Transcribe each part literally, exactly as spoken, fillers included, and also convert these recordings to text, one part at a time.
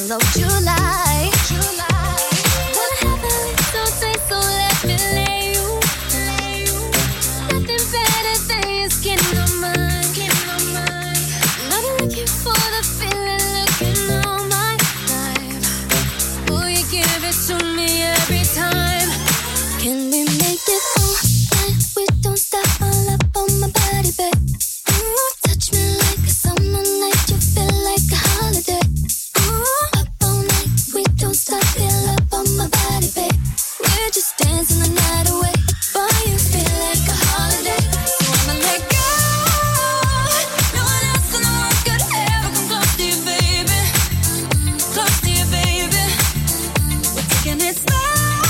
middle of July. July. Wanna have a little taste, so let me lay you. Lay you. Nothing better than your skin on mine. Skin on mine. I've been looking for the feeling, looking all my life. Will you give it to me every time? Can we make it all night? We don't stop, all up on my body, babe. Ooh, touch me like a summer night. You feel like a holiday. Ooh, up all night. We don't stop, feel up on my body, babe. We're just dancing the night away. Boy, you feel like a holiday. So I'ma let go. No one else in the world could ever come close to you, baby. Close to you, baby. We're taking it slow.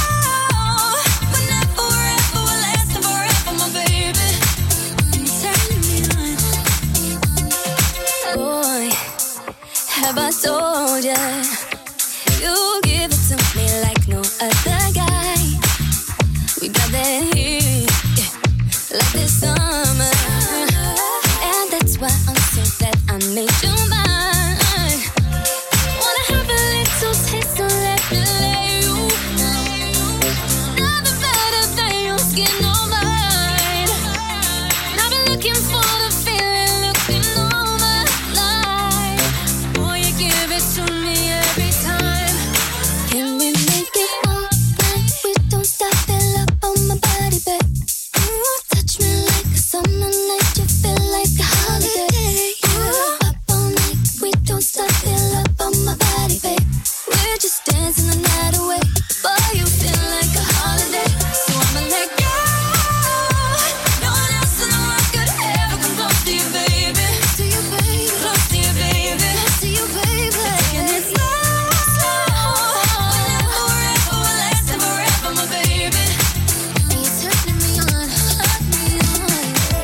Have I told ya, you give it to me like no other guy. We got that heat, yeah, like this summer. And that's why I'm so glad I made you mine. Wanna have a little taste, so let me lay you. Nothing better than your skin on mine. And I've been looking for the feeling, looking all my life. Give it to me every time. Can we make it all night? We don't stop, feel up on my body, babe. Ooh, touch me like a summer night. You feel like a holiday. Ooh, up all night. We don't stop, feel up on my body, babe. We're just dancing the night away. Boy, you feel like a holiday. So I'ma let go. No one else in the world could ever come close to you, baby. To you, baby. Close to you, baby. To you, baby. Taking it slow, slow. Whenever, wherever, we're lasting forever, my baby. And you're turning me on, turning me on.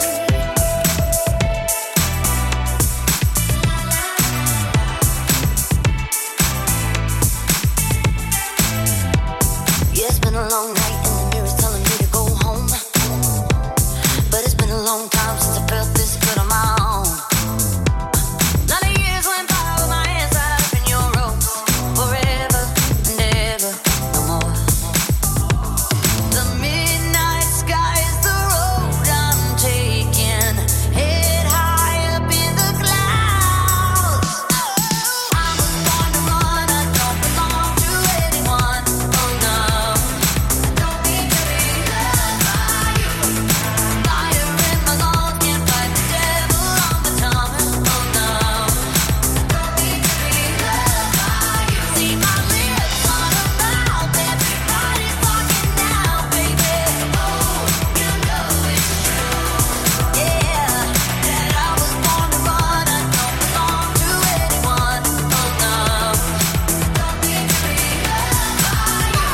Yeah, it's been a long night and the mirror's telling me to go home. But it's been a long time since I felt this good on my own. Lot of years went by with my hands tied up in your ropes. Forever and ever, no more. The midnight sky is the road I'm taking. Head high up in the clouds. I was born to run, I don't belong to anyone. Oh no, I don't need to be loved by you. Fire in my lungs, can't fight the devil on my tongue. Oh no, I don't need to be loved by you. See my lips on a mouth, everybody's talking now, baby. Oh, you know it's true, yeah, that I was born to run, I don't belong to anyone. Oh no, I don't need to be loved by you.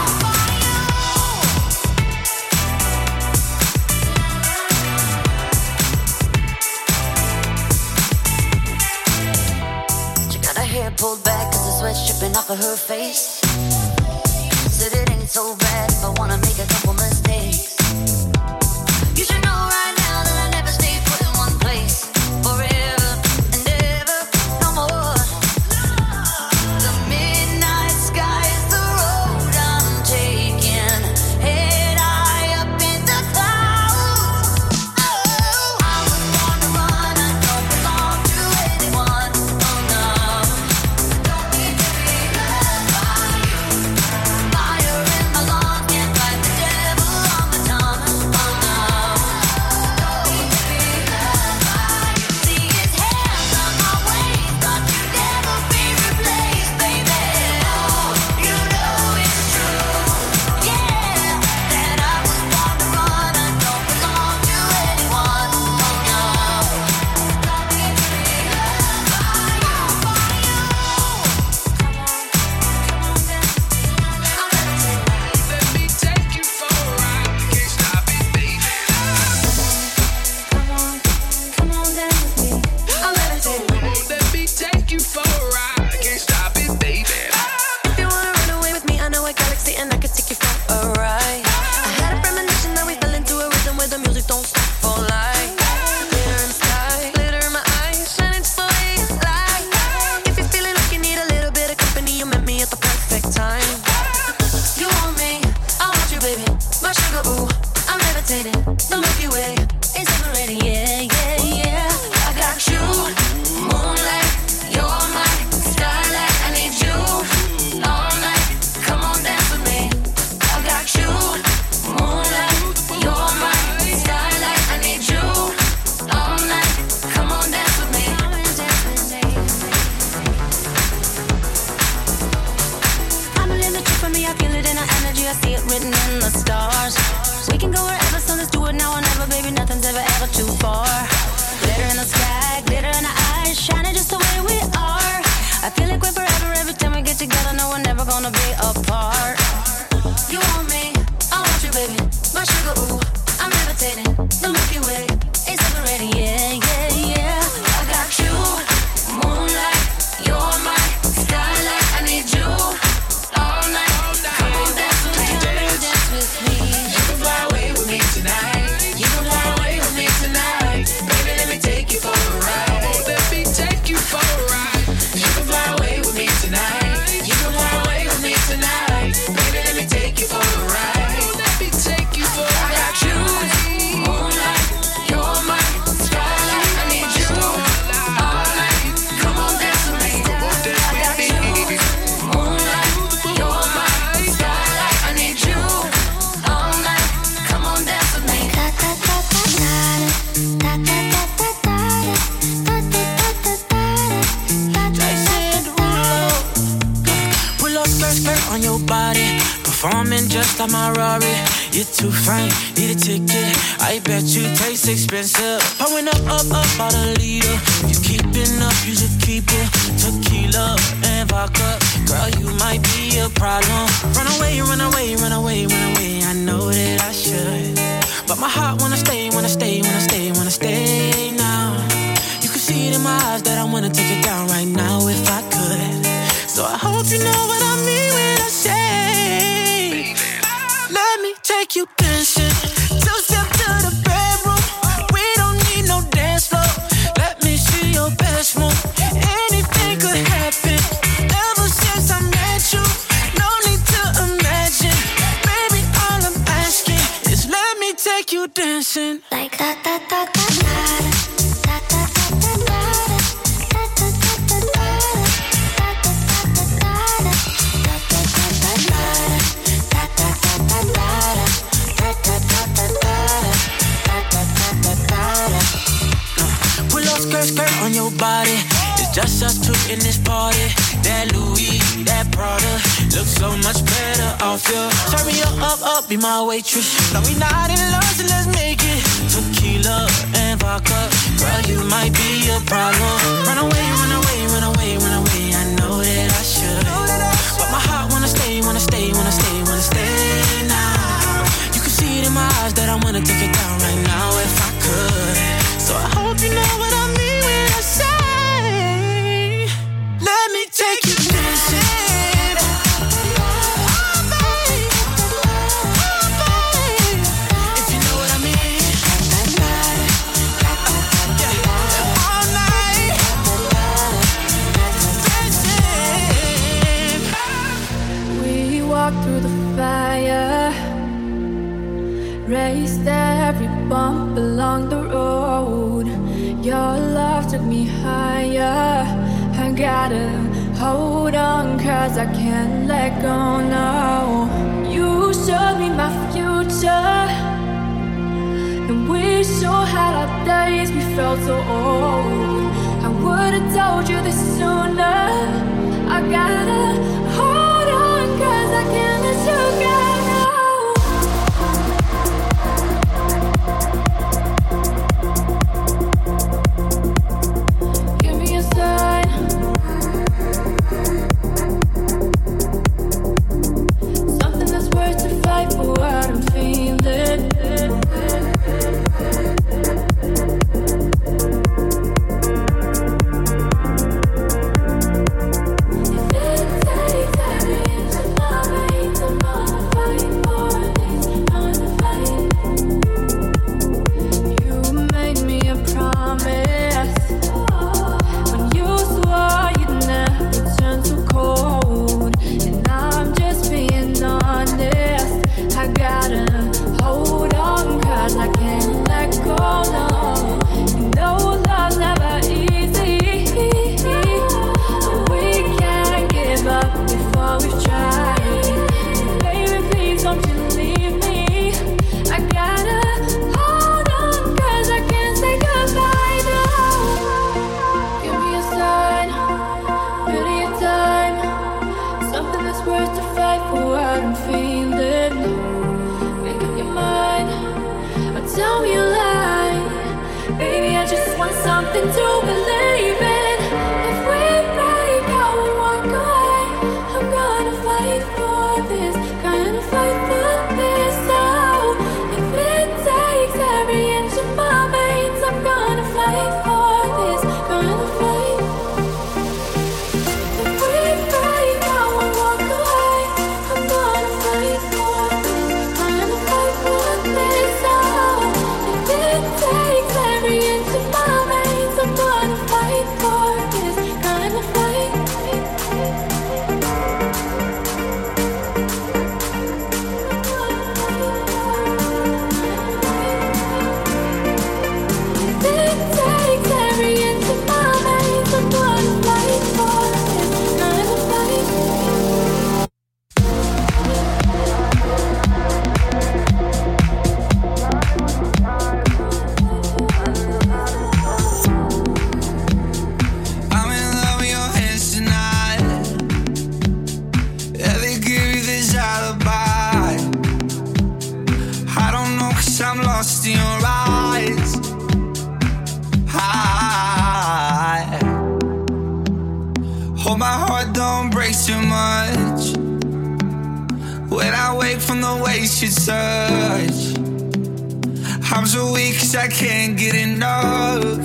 She got her hair pulled back cause the sweat's dripping off of her face. Said it ain't so bad if I wanna make a couple mistakes. You should know right now that I never stay put in one place. Forever and ever, no more. The midnight sky is the road I'm taking. Head high up in the clouds. Oh, I was born to run, I don't belong to anyone. Oh no, I don't need to be loved by you. Fire in my lungs, can't fight the devil on my it written in the stars. We can go wherever, so let's do it now or never, baby. Nothing's ever, ever too far. Glitter in the sky, glitter in our eyes, shining just the way we are. I feel like we're forever every time we get together. No, we're never gonna be apart. You want me, I want you, baby. My sugar, ooh, I'm levitating. The Milky Way is separating, yeah, yeah, yeah. I got you, moonlight, you're my starlight. I need you all night. Come on, dance with me, dance with me. You can fly away with me tonight. You can fly away with me tonight. Baby, let me take you for a ride. Let me take you for a ride. You can fly away with me tonight. You can fly away with me tonight. Baby, let me take you for a ride. Let me take you for a ride. I got you, moonlight, you're my starlight. I need you all night. Come on, dance with me. I got you, moonlight, you're my starlight. I need you all night. Come on, dance with me. Pull up skirt, skirt on your body. Performing just like my Rari. You're too fine, need a ticket. I bet you taste expensive. Pouring up, up, up, about a liter. If you keeping up, you should keep it. Tequila and vodka. Girl, you might be a problem. Run away, run away, run away, run away. I know that I should, but my heart wanna stay, wanna stay, wanna stay, wanna stay now. You can see it in my eyes that I wanna take it down right now if I could. So I hope you know what I mean when I say, let me take you dancing. Two step to the bedroom. We don't need no dance floor. Let me see your best move. Anything could happen. Ever since I met you, no need to imagine. Baby, all I'm asking is let me take you dancing. Like da da da da da. Skirt, skirt on your body. It's just us two in this party. That Louis, that Prada looks so much better off you. Turn me up, up, up, be my waitress. No, we not in love, so let's make it. Tequila and vodka. Girl, you might be a problem. Run away, run away, run away, run away. I know that I should, but my heart wanna stay, wanna stay, wanna stay, wanna stay now. You can see it in my eyes that I wanna take it down right now if I could. So I hope you know what I mean when I say, let me take you dancing. Oh, babe. Oh, babe. If you know what I mean. Yeah. All night. Dancing. We walked through the fire, raced every bump along the road. Your love took me higher. I gotta hold on, cause I can't let go now. You showed me my future, and we sure had our days. We felt so old. I would've told you this sooner. I gotta hold on, cause I can't let you go. something to believe in. If we break out and walk away, I'm gonna fight for this, gonna fight for this. Oh, if it takes every inch of my veins, I'm gonna fight for this, gonna fight. If we break out and walk away, I'm gonna fight for this, gonna fight for this. Oh, if it takes every inch of my veins, I'm gonna fight for this, gonna fight. If it takes every inch of my veins, I'm gonna fight for this, gonna fight. I'm in love with your hands tonight. Yeah, they give you this alibi. I don't know, cause I'm lost in your eyes. I hope my heart don't break too much when I wake from the waste you touch. I'm so weak cause I can't get enough.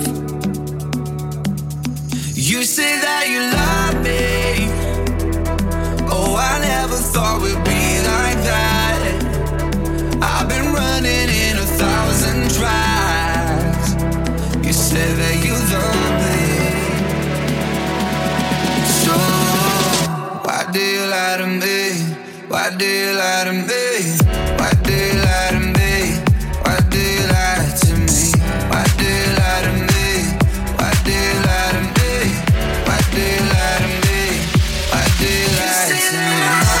You say that you love me. Oh, I never thought we'd be like that. I've been running in a thousand tracks. You say that you love me. So why do you lie to me? Why do you lie to me? Why do you lie to me? Why do you lie to me? Why do you lie to me? Why do you lie to me? Why do you lie to me? Why do you lie to me?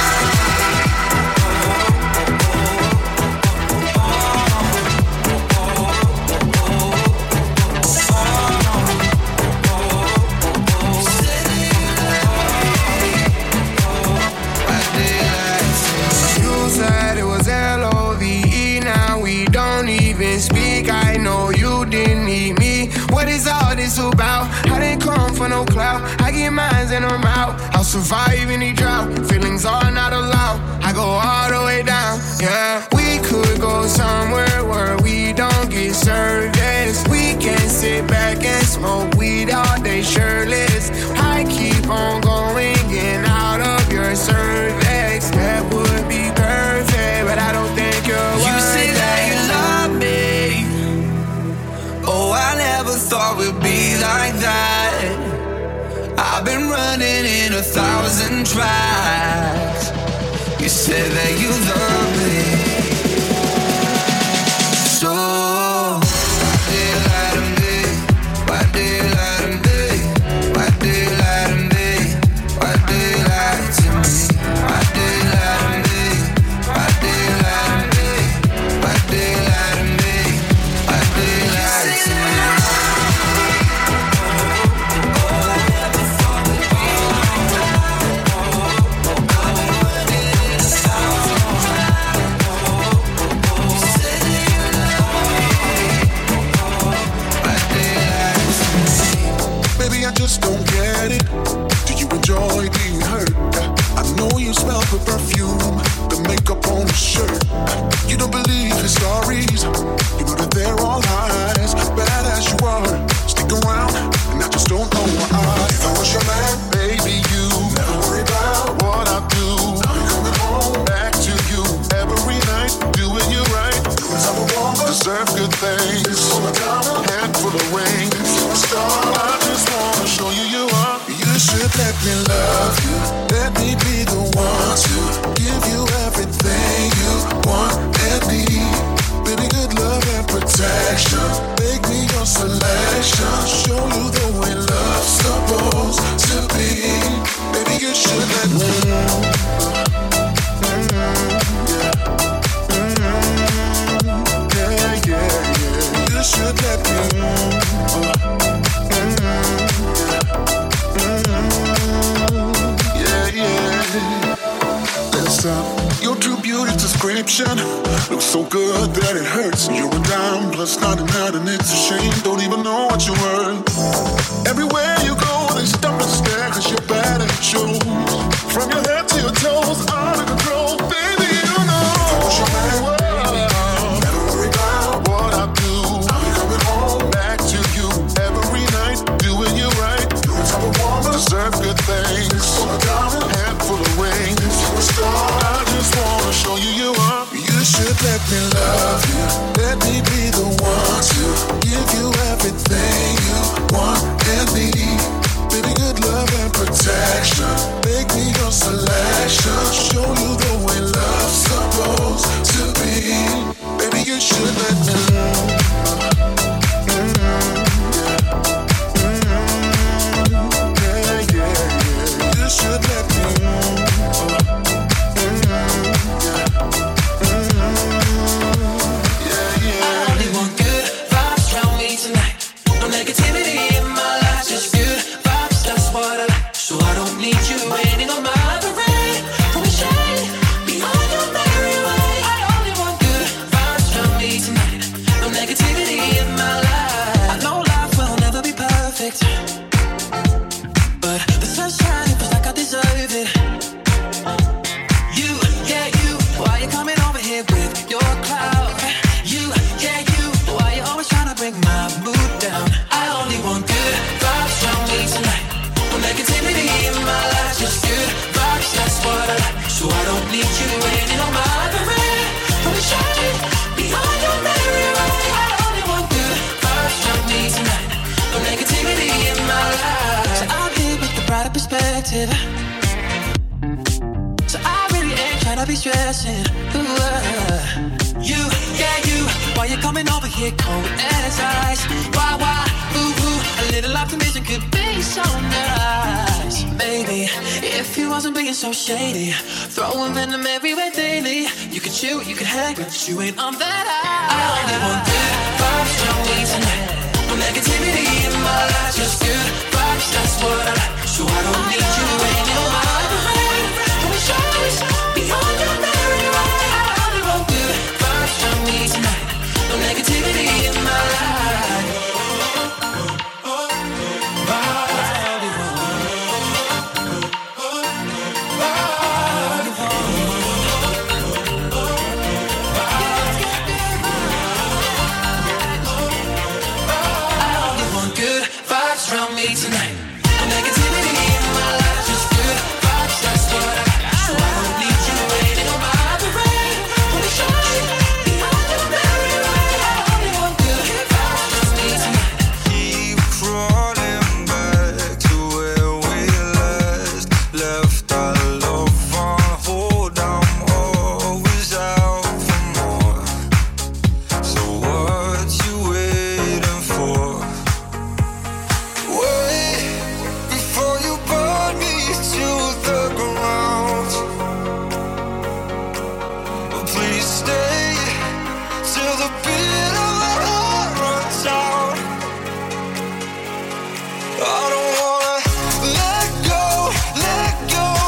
You said it was L O V E, now we don't even speak. I know you didn't need me. What is all this about? I didn't come for no clout. I get mines and I'm out. I'll survive any drought. Feelings are not allowed. I go all the way down. Yeah, we could go somewhere where we don't get service. We can sit back and smoke weed all day shirtless. I keep on going in out of your cervix. That would be perfect, but I don't think you're You worth say that it. you love me. Oh, I never thought we'd be like that. I've been running in a thousand tracks. You say that you love me. So why do you lie to me? Why do you lie to me? Why do you lie to me? Why do you lie to me? Why do you lie to me? Why do you lie to me? Why do you lie to me? Why do you lie to me? Baby, I just don't get it. Do you enjoy being hurt? I know you smell the perfume, the makeup on the shirt. You don't believe his stories. You know that they're all lies. Bad as you are, stick around, and I just don't know why. If I was your man, baby, you never worry about what I do. I'm coming home back to you every night, doing you right. Cause I'm a woman, deserve good things. Handful of rings, star. I just wanna show you you are. You should let me love you. Let me be the one to give you everything you want and need. Baby, good love and protection. Make me your selection. Show you the way love's supposed to be. Baby, you should let me. Yeah, yeah, yeah. You should let me. Yeah, yeah. Let's stop. Your true beauty description looks so good that it hurts. You're a dime plus ninety-nine and it's a shame. Don't even know what you're worth. Everywhere you go, they stop and stare cause you're bad and it shows. From your head to your toes, out of control. Baby, you know. If I was your man, never worry about what I do. I'll be coming home back to you every night, doing you right. You're the type of woman deserve good things. So a diamond, head full of wings. You're a star. I just wanna show you you are. You should let me love you. Let me be the one to give you everything you want and need. Baby, good love and protection. Make me your selection. Show you the way love's supposed to be. Baby, you should let me love. Mm-hmm. Mm-hmm. Yeah, yeah, yeah. You should let me love. So I really ain't tryna be stressing. Ooh, uh, you, yeah, you. Why you coming over here cold as ice? Why, why? Ooh, ooh. A little optimism could be so nice. Maybe if you wasn't being so shady, throwing venom everywhere daily. You could shoot, you could hang, but you ain't on that high. I only want good vibes from me tonight. No negativity in my life, just good vibes. That's what I like. So I don't need you in your mind. Don't be shy, beyond your memory, right? I only want good vibes from me tonight. No negativity in my life. I only want good vibes from me tonight. No negativity in my life, just good vibes. That's what I got. So I don't need you waiting on my parade. Don't be shy, beyond your memory, right? I only want good vibes from me tonight. Keep crawling back to where we last left our love on hold. I'm always out for more. So what you waiting for? Wait before you burn me to the ground. Please stay till the beat of my heart runs out. I don't wanna let go, let go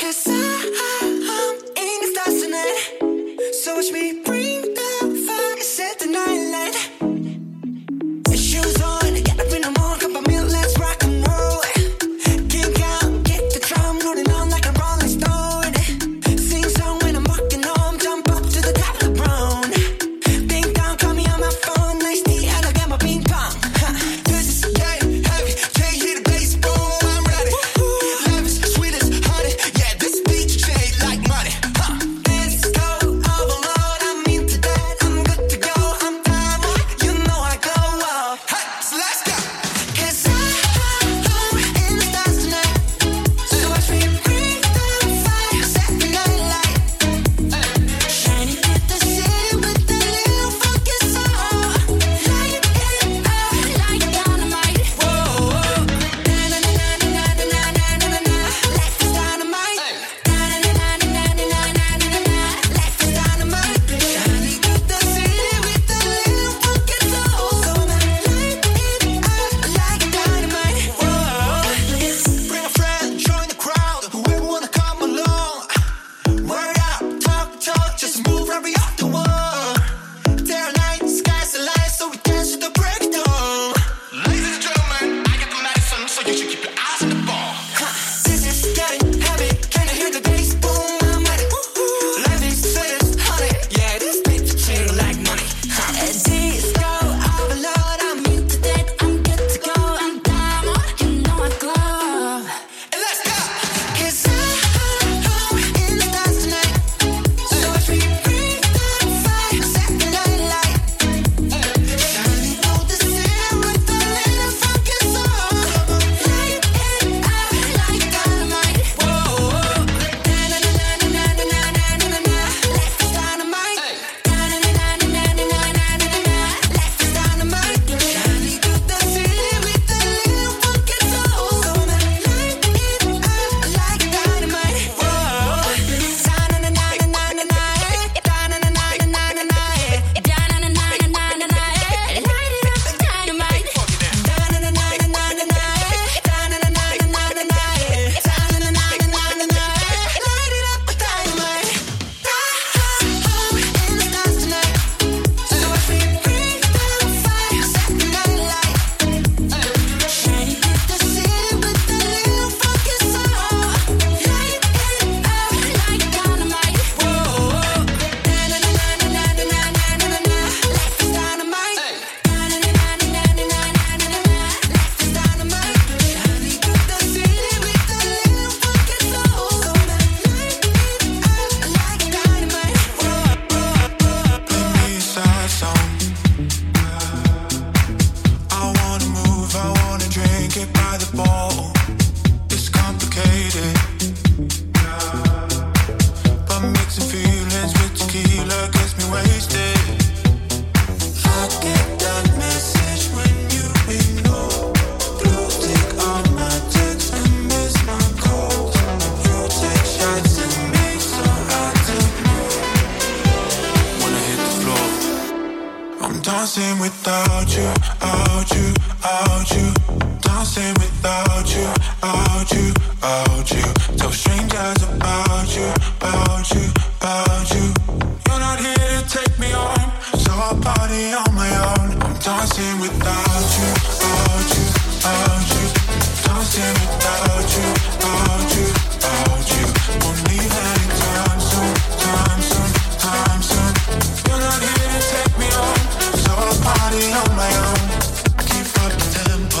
dancing without you, out you, out you. Dancing without you, out you, out you. Tell strangers about you, about you, about you. You're not here to take me home, so I'll party on my own. I'm dancing without you, out you, out you. Dancing without you, out you, out you. Won't leave anytime soon, time soon, time soon. You're not here to take me home, so I'll party on my own. Keep up the tempo.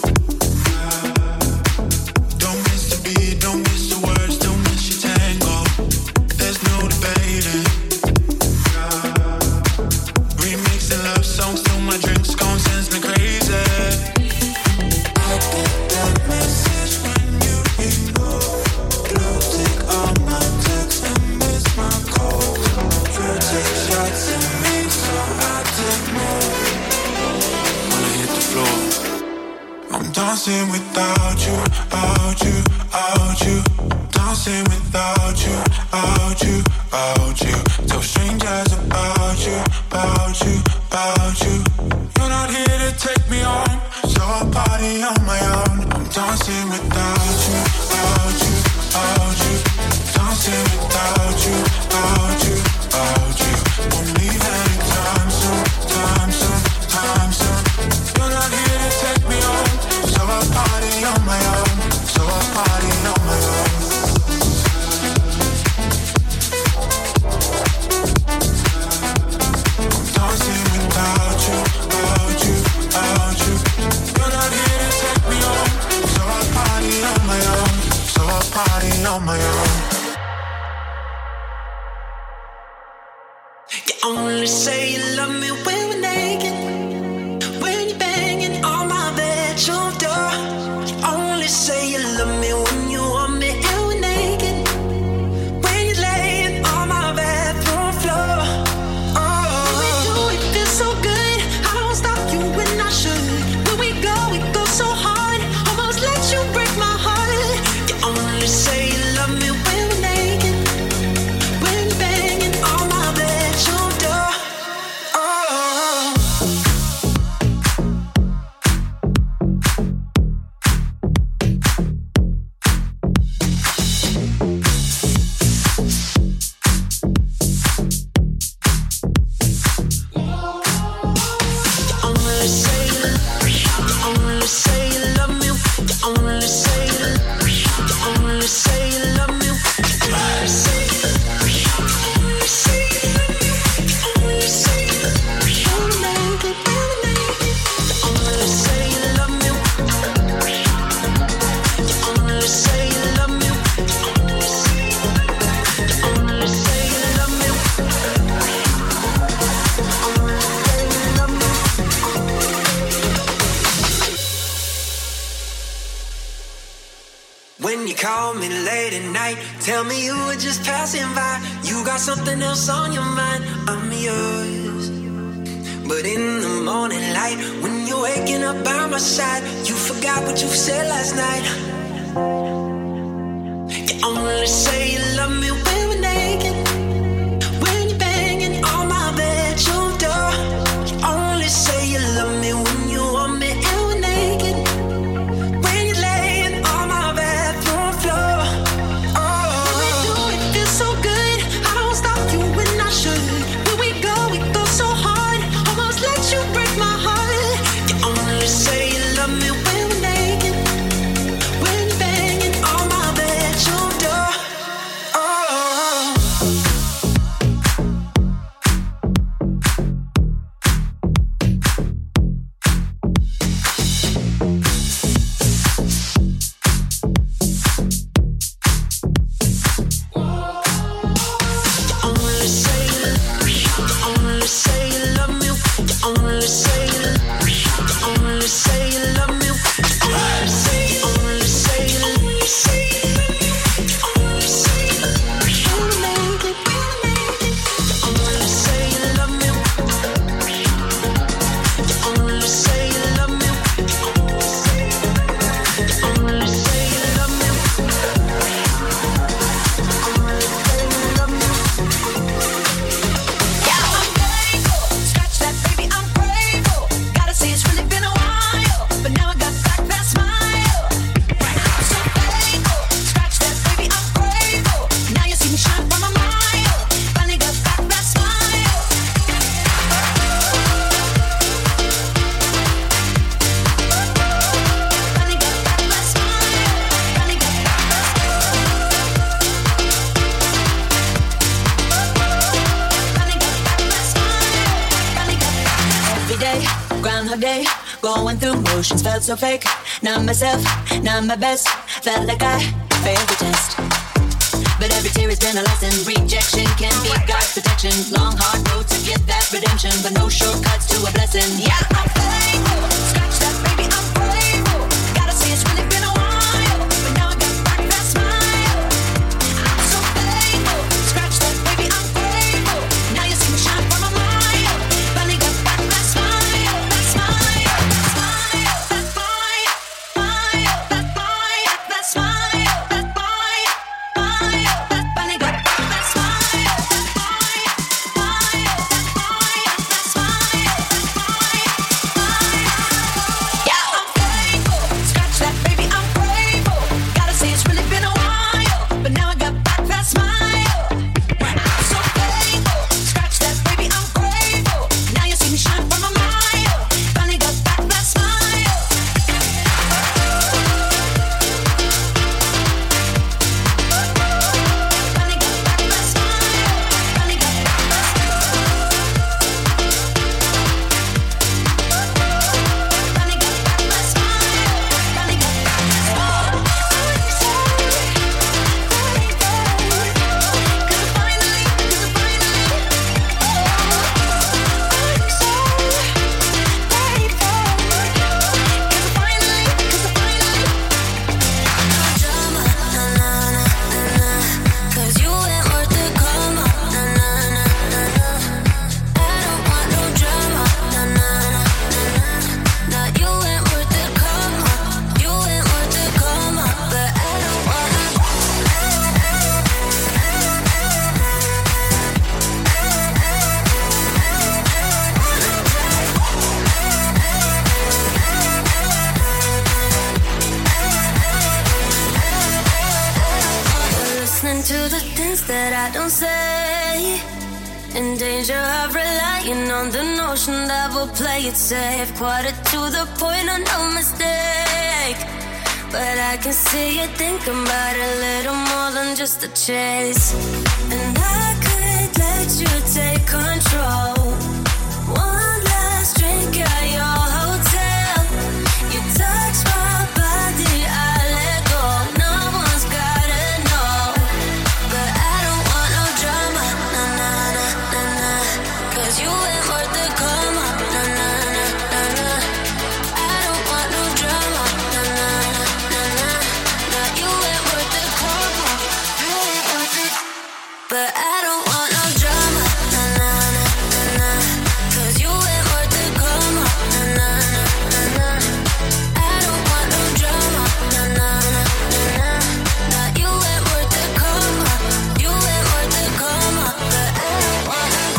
Don't miss the beat, don't miss the words, don't miss your tango. There's no debating. Remixing love songs till my drinks gone, sends me crazy. I get that message when you ignore. Blue tick on my text and miss my call. You take shots at me, so I take more. When I hit the floor, I'm dancing without you, out you, out you. Dancing without you, out you, out you. Tell strangers about you, about you, about you. You're not here to take me home, so I'll party on my own. I'm dancing without you, out you, out you. You only say you love me when we're naked, when you're banging on my bedroom door. You only say you love me when you want me and we're naked, when you're laying on my bathroom floor. Oh, when we do it feels so good, I don't stop you when I should. When we go, we go so hard, almost let you break my heart. You only say you love me when we're naked, when you're banging on my bedroom door. Oh. Only say you only say you love me. You only say you you only say you love me. You only say you only say you only say you when we're naked, when we're naked. You only say you love me. You only say you love me. You only say you only say you love me. Only say you love me. When you call me late at night, tell me you were just passing by. You got something else on your mind, I'm yours. But in the morning light, when you're waking up by my side, you forgot what you said last night. You only say you love me when we're naked, when you're banging on my bedroom door. You only say you love me when you want me and we're naked, when you're laying on my bathroom floor. Oh, when we do it feels so good, I don't stop you when I should. When we go, we go so hard, almost let you break my heart. You only say you love me when we're naked, when you're banging on my bedroom door. Oh. You only say you only say you love me. You only say you you only say you love me. You only say you only say you only say you only say you when we're naked, when we're naked. You only say you love me. You only say you love me. You only say you love me. Yeah, I'm grateful. Scratch that, baby, I'm grateful. Gotta say it's really been a while, but now I got back that smile. I'm so thankful. Scratch that, baby, I'm grateful. Now you see me shine from a mile. Finally got back that smile. Finally got back that smile. Finally got back that Finally got back that smile. Finally got back. Every day, Groundhog Day, going through motions felt so fake. Not myself, not my best. Felt like I failed the test. But every tear has been a lesson. Rejection can be God's protection. Long hard road to get that redemption, but no shortcuts to a blessing. Yeah, I'm thankful. Scratch that, baby, I'm grateful. Gotta say it's really been a while, but now I got back that smile. I'm so thankful. Scratch that, baby, I'm grateful. Now you see me shine from a mile. Finally got back that smile, that smile, that smile, that smile, smile, that smile, that smile, that smile, smile, that finally got back that smile, that smile, smile, that smile, that smile, that smile, smile. Yeah, I'm thankful. listening to the things that I don't say. In danger of relying on the notion that we'll play it safe. Quarter to the point of no mistake. But I can see you thinking about it a little more than just a chase. And I could let you take control. One last drink at your hotel. You touch my body, I let go. No one's gotta know. But I don't want no drama, nah, nah, nah, nah, nah. Cause you ain't worth the coma, nah, nah, nah, nah, nah. I don't want no drama, nah, nah, nah, nah, nah. Nah, you ain't worth the coma, you ain't worth it. But I don't want no drama, nah, nah, nah, nah, nah. Cause you ain't worth the coma, nah, nah, nah, nah, nah. I don't want no drama, nah, nah, nah, nah, nah. Nah, you ain't worth the coma, you ain't worth the coma. But I don't want no.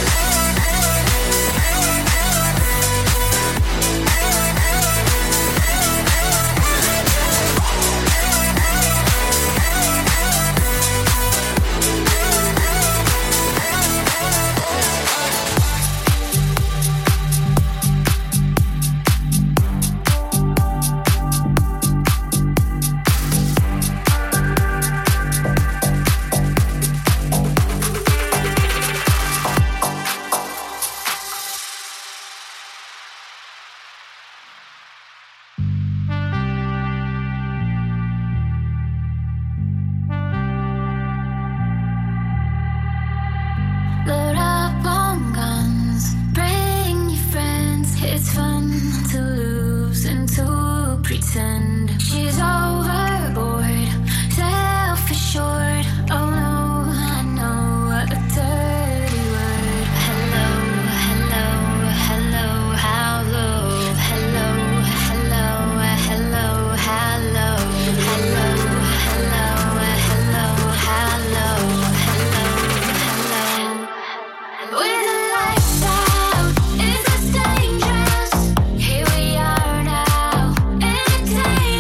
Load up on guns, bring your friends. It's fun to lose and to pretend. She's overboard, self-assured. Oh no, I know a dirty word. Hello, hello, hello, how low. Hello, hello, hello, how low. Hello, hello, hello, how low. Hello, hello. With the lights out, is this dangerous? Here we are now, entertainment.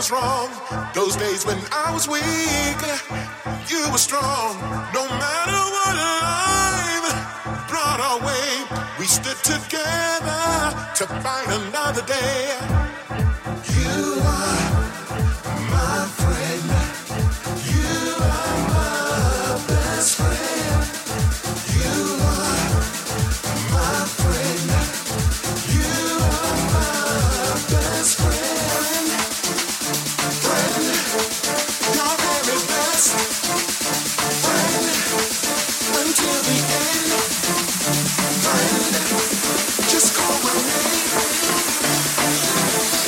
was wrong. Those days when I was weak, you were strong. No matter what life brought our way, we stood together to fight another day. You are my friend. You are my best friend. You are my friend. You are my best friend. Friend, your very best friend until the end. Friend, just call my name.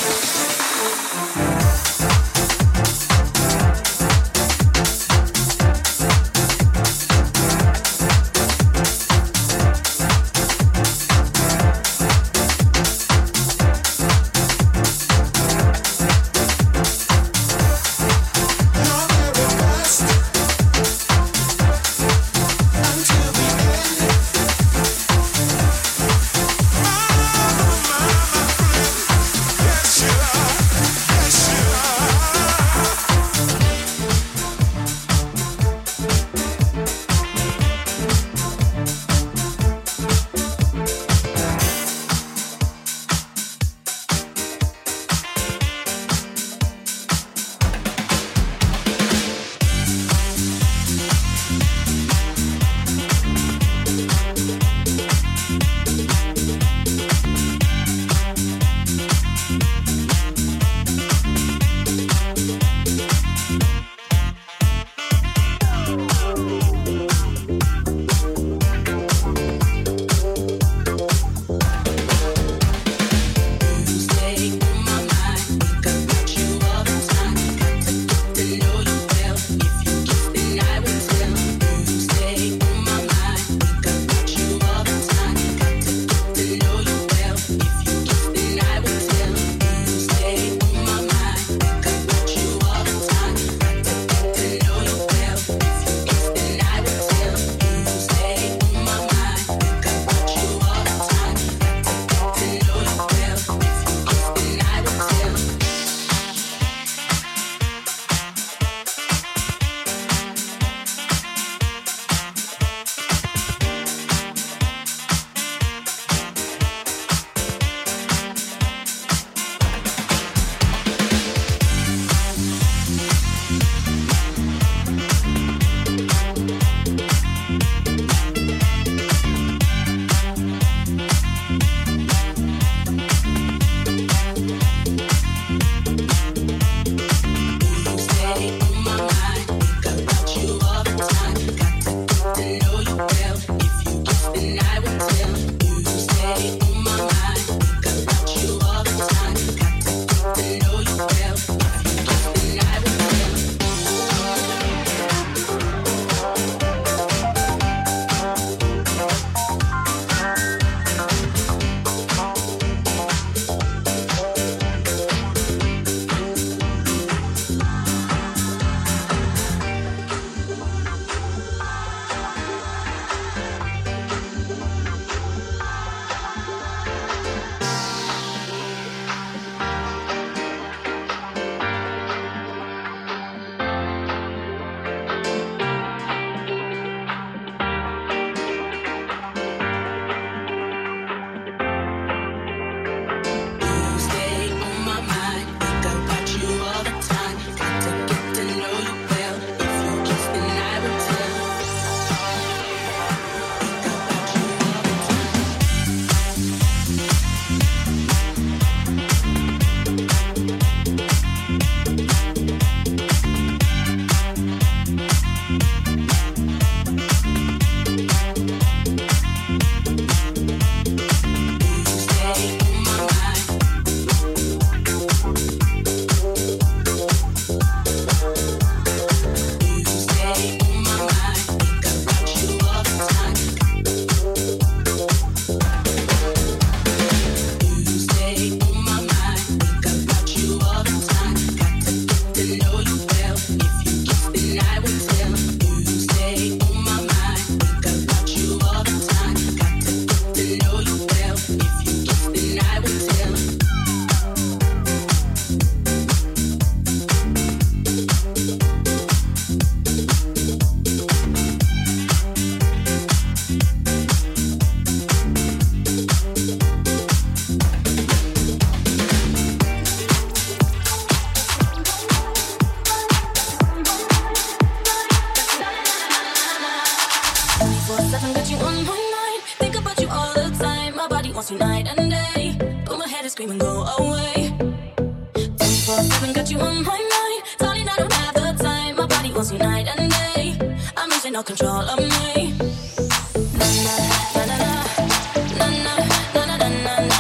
wants you night and day. But my head is screaming, go away. twenty-four seven got you on my mind. Darling, I don't have the time. My body wants you night and day. I'm losing all control of me. Na na na na na. Na na na na na na na.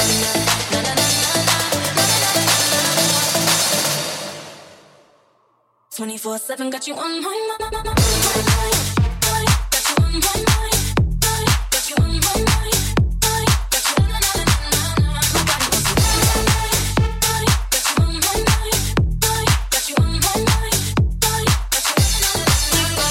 twenty-four seven got you on my mind. Got you on my mind. Got you on my mind. Got you na na na na na. My body wants you. Got you on my mind. Got you on my mind. Got you na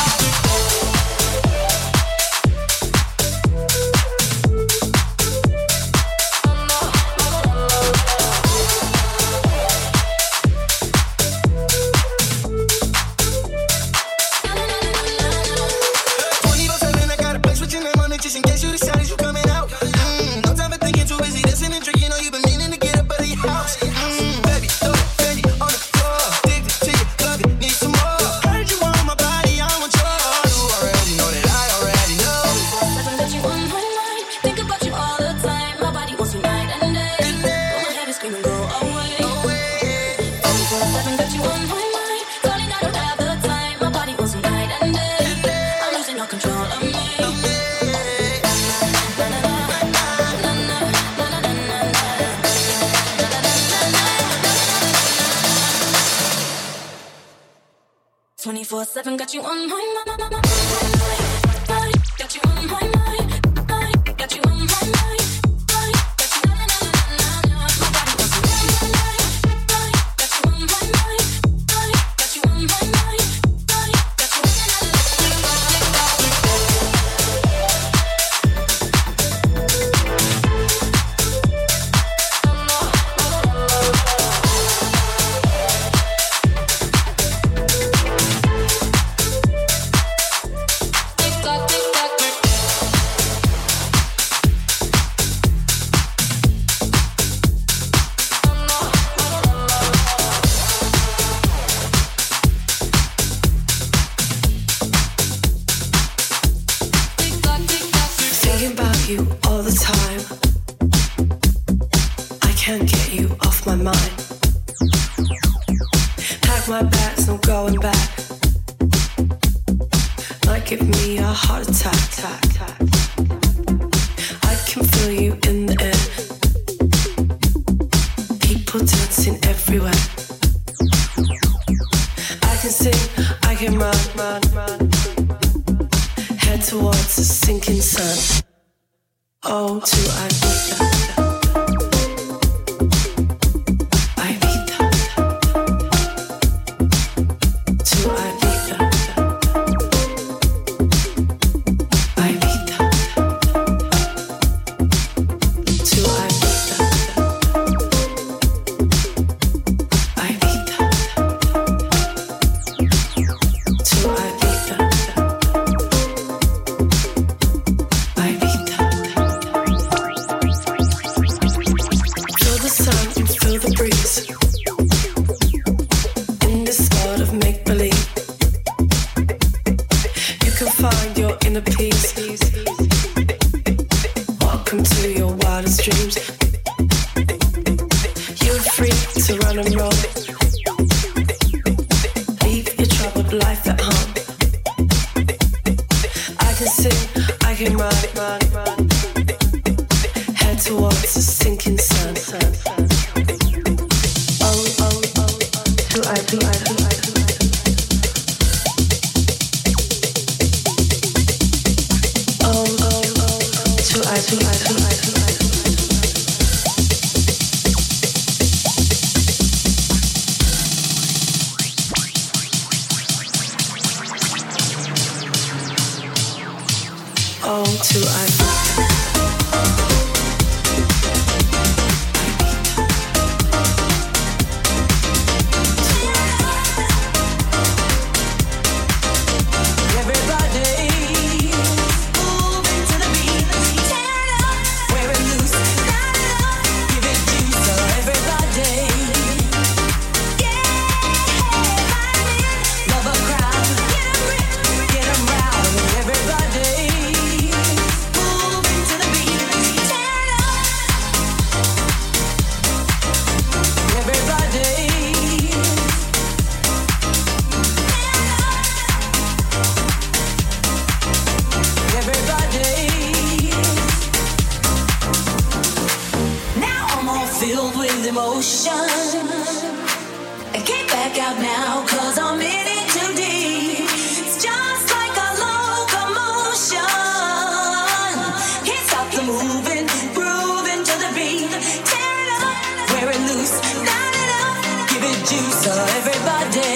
twenty-four seven got you on my mind. Got you on my mind. Got you on my mind. Got you na na na na na. My body wants you. Got you on my mind. Got you on my mind. Got you na na Everybody filled with emotion. I can't back out now, cause I'm in it too deep. It's just like a locomotion. Can't stop the moving, grooving to the beat. Tear it up, wear it loose, light it up, give it juice, so everybody.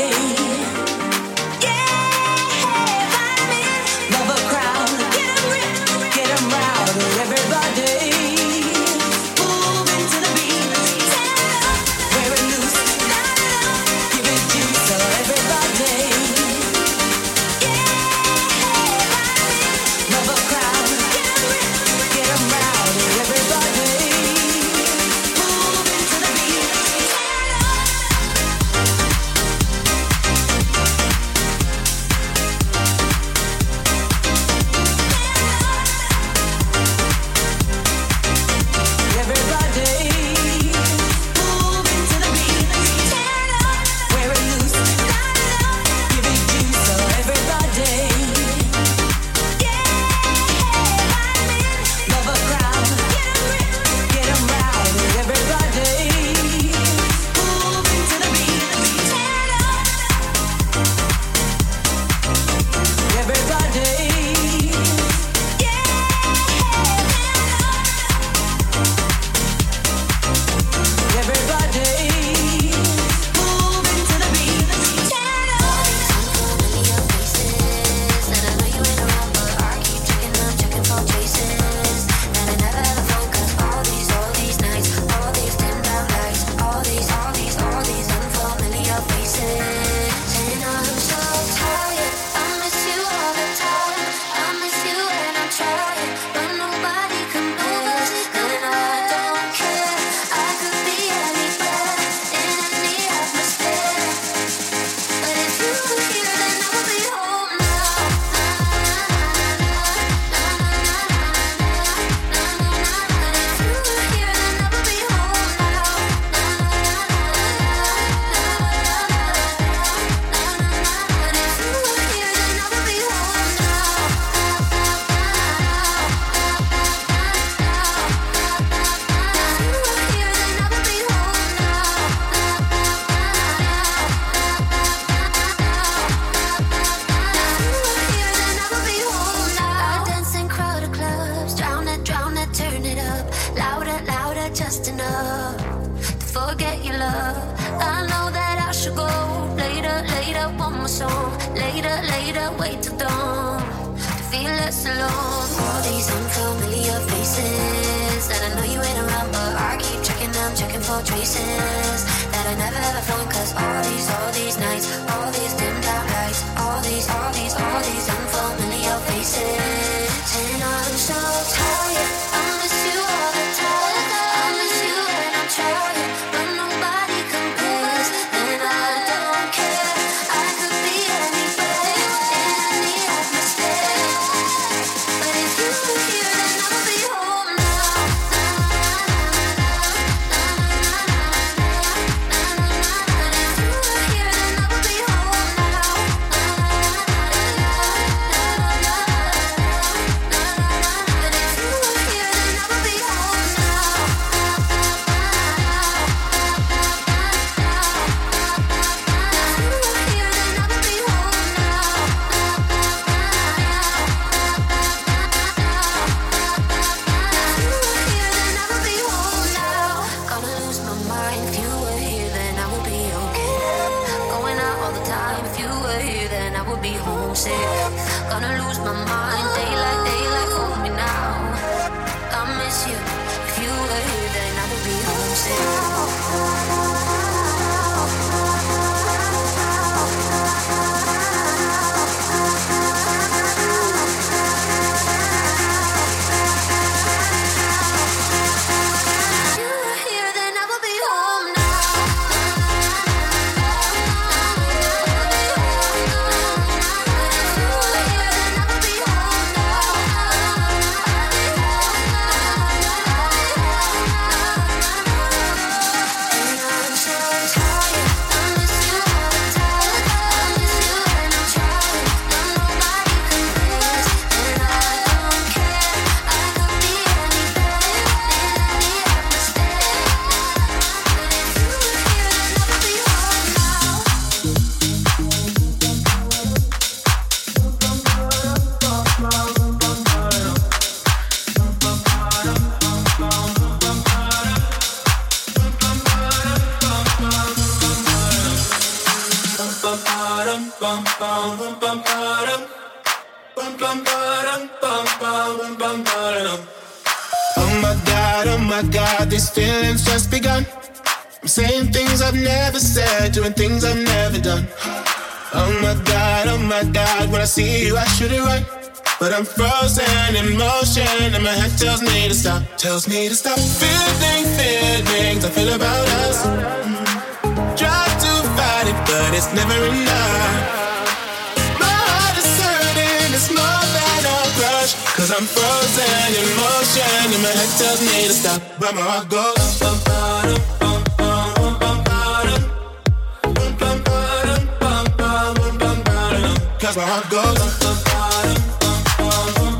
oh my God, these feelings just begun. I'm saying things I've never said, doing things I've never done. Oh my God, oh my God, when I see you I should it right, but I'm frozen in motion and my head tells me to stop, tells me to stop. Feeling feelings I feel about us. Try to fight it, but it's never enough. My heart is hurting, it's more than a crush, cause I'm frozen in motion and my head tells me to stop, but my heart goes bum, bum, bum, bum, bum, bum, bum, bum, bum, bum, bum, cause my heart goes bum, bum, bum, bum,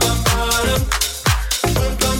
bum,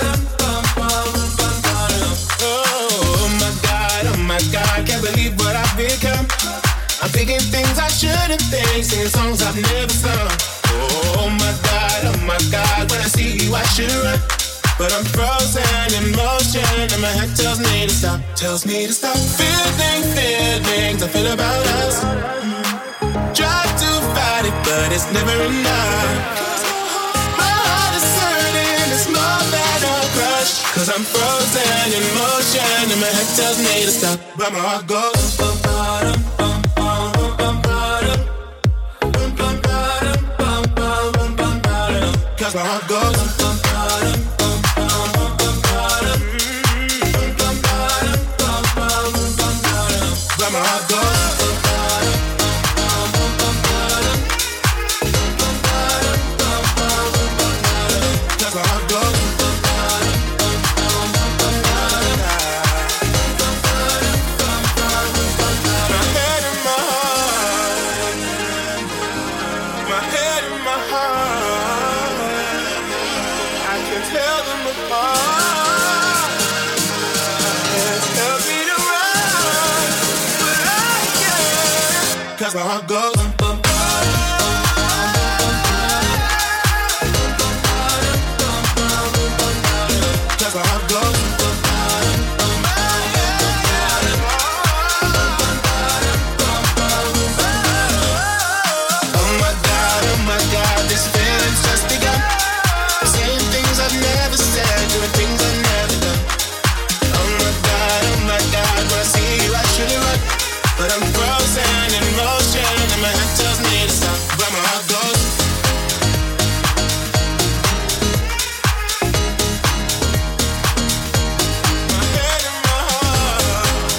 bum, oh my God, oh my God, can't believe what I've become. I'm thinking things I shouldn't think, singing songs I've never sung. Oh my God, oh my God, when I see you I should run, but I'm frozen in motion and my head tells me to stop, tells me to stop. Feeling feelings I feel about us. Try to fight it, but it's never enough. My heart is hurting, it's more than a crush, cause I'm frozen in motion and my head tells me to stop, but my heart goes bum, bottom, bum, bum, bum, bottom, bum, bum, bottom, bum, bum, bum, bum, bottom, cause my heart goes bum, bottom, bum, bum, bum, bottom, bum, bum, bottom, bum, bum, bum, bottom, but my heart goes bum, bottom, bum, bum, bum, bottom, bum, bottom, bum, bum, bum, bottom, cause my heart goes bum, bottom, bum, bum, bum, bottom, bum, bottom, bum, bum, bum, bottom. My head and my heart, my head and my heart, I can tell them apart. Can't tell me to run, but I can, cause my heart goes bum, bum, cause my heart goes bum, oh my God, oh my God, these feelings just begun. Saying things I've never said, doing things I've never done. Oh my God, oh my God, when I see you I should run, but I'm frozen in motion and my head tells me to stop, but my heart goes. My head and my heart.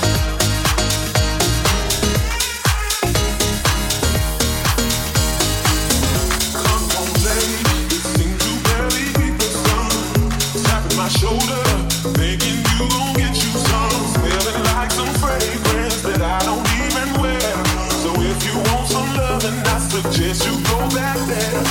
Come on, lady, it seems you barely beat the sun. Tapping my shoulder, thinking you gon' get you some. Smelling like some fragrance that I don't even wear. So if you want some love, then I suggest you go back there.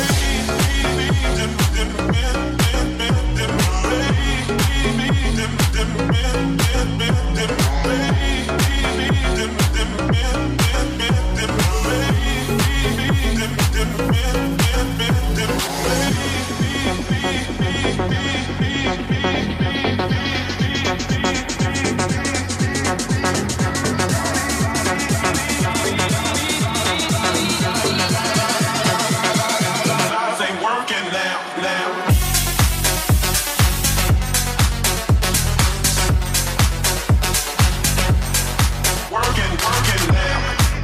Ain't working now, now. Working, working now.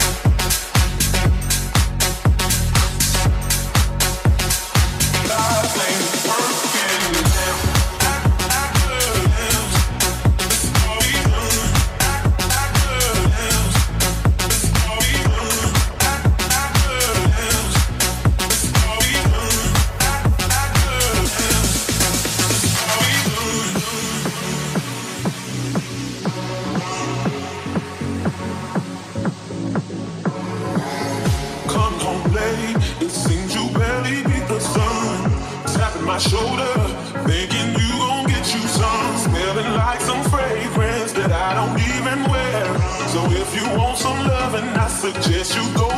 Life ain't working now. Come home late, it seems you barely beat the sun. Tapping my shoulder, thinking you gon' get you some. Smelling like some fragrance that I don't even wear. So if you want some loving, I suggest you go